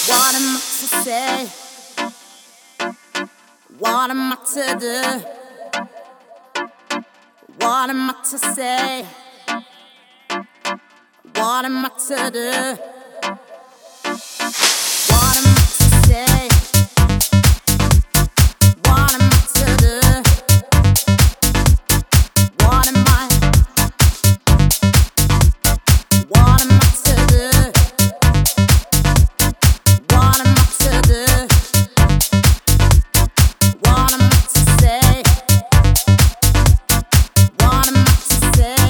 What am I to say? What am I to do? What am I to say? What am I to do? What am I to say? What am I to do? What am I? What am I to do? What am I to do? What am I to say? What am I to say?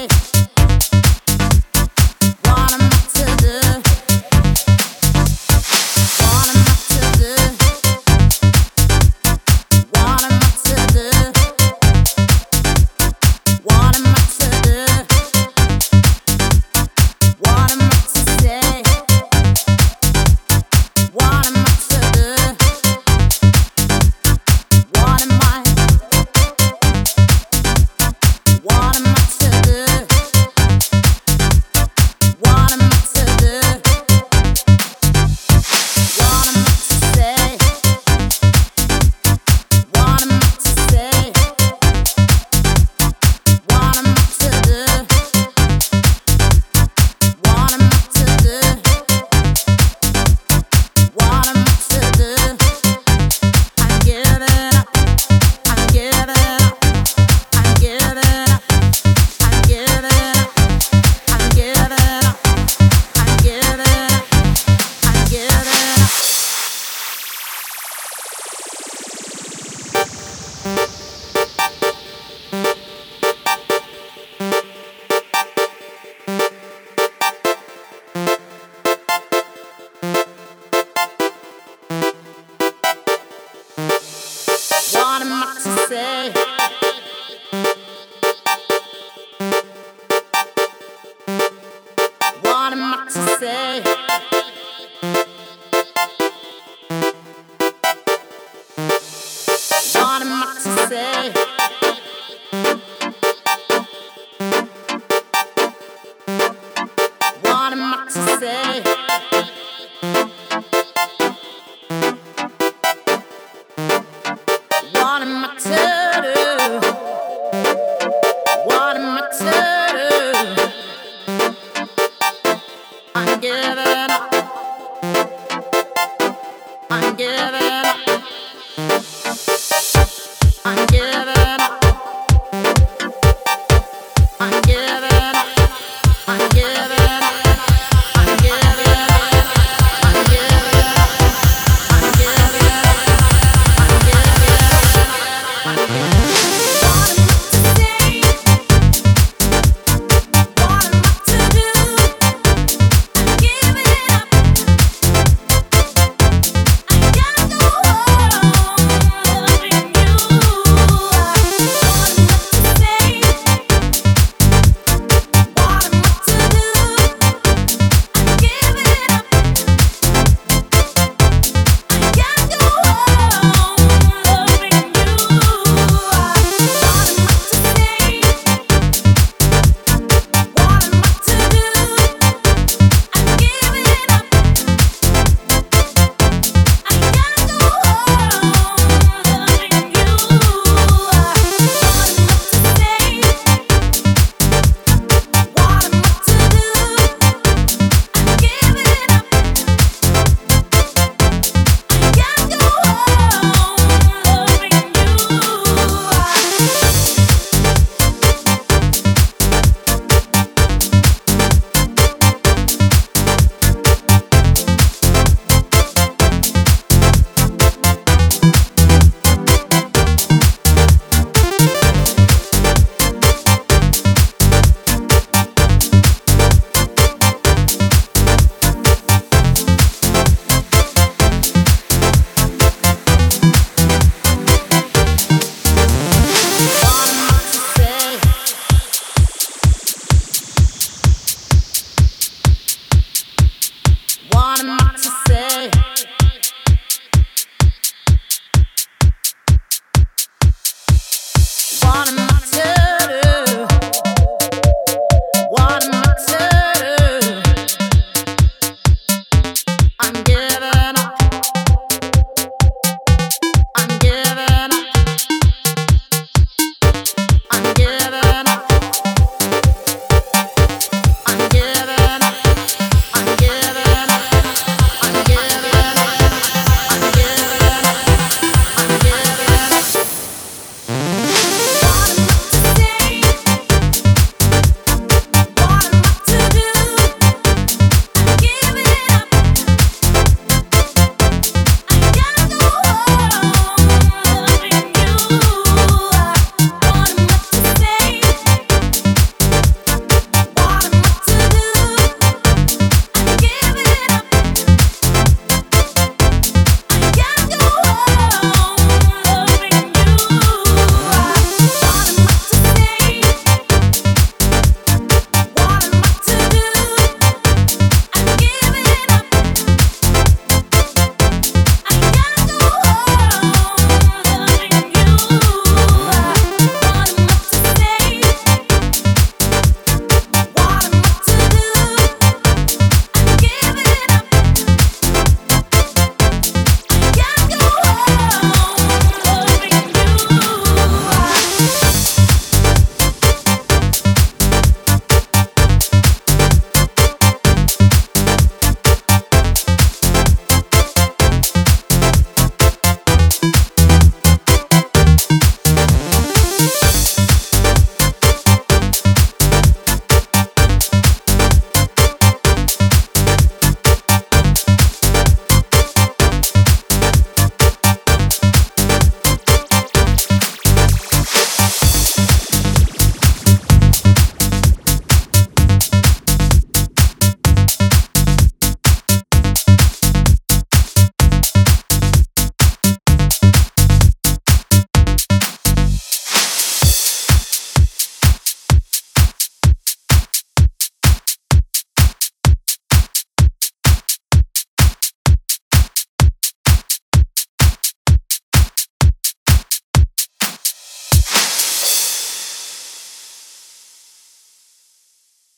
What am I to do? What am I to do? What am I to do? What am I to do? What am I to say? What am I to do? What am I? What am I to do? What am I to do? What am I to say? What am I to say? What am I to do? What am I to do? What am I to do? I'm giving up. I'm giving up. I'm giving up. I'm giving up. I'm giving up. I'm giving up. I'm giving up. What am I to say? What am I to say? What am I to say? What am I to say? What am I to do? What am I to do? I'm giving up. I'm giving